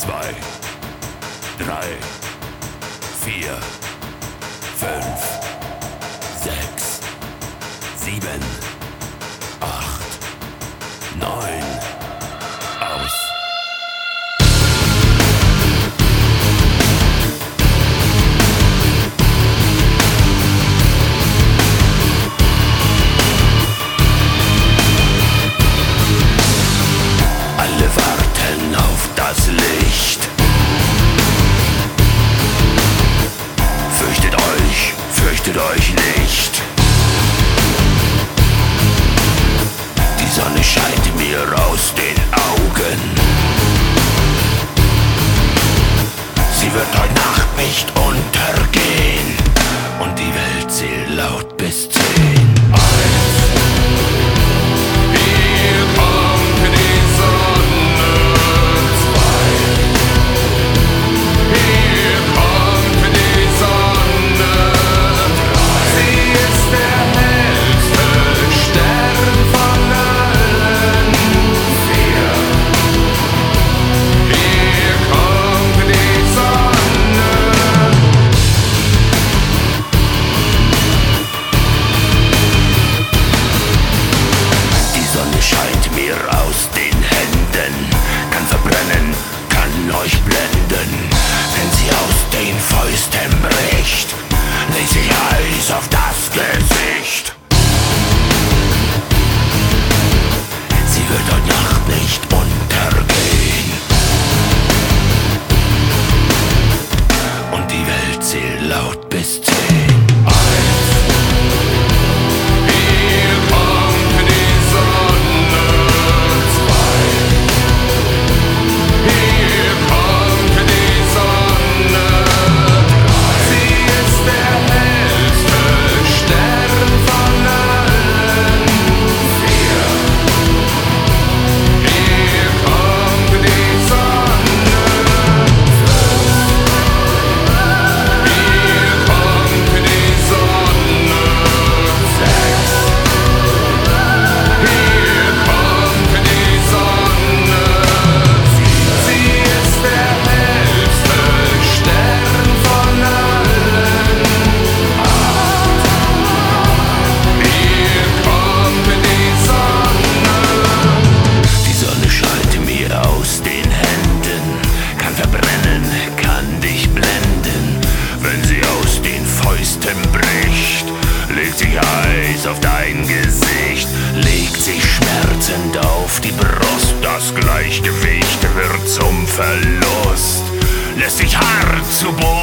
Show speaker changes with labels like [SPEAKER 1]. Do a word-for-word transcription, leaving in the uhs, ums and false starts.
[SPEAKER 1] zwei, drei, vier, fünf, sechs, sieben, acht, neun, aus. Alle warten auf das Licht. Fürchtet euch, fürchtet euch nicht. Die Sonne scheint mir aus den Augen. Sie wird heute Nacht nicht untergehen. Und die Welt zählt laut bis zehn. Aus den Händen, kann verbrennen, kann euch blenden. Wenn sie aus den Fäusten bricht, legt sich Eis auf das Gesicht. Sie wird heute Nacht nicht untergehen. Und die Welt zählt laut bis zehn. Legt sich Eis auf dein Gesicht, legt sich schmerzend auf die Brust. Das Gleichgewicht wird zum Verlust, lässt sich hart zu Boden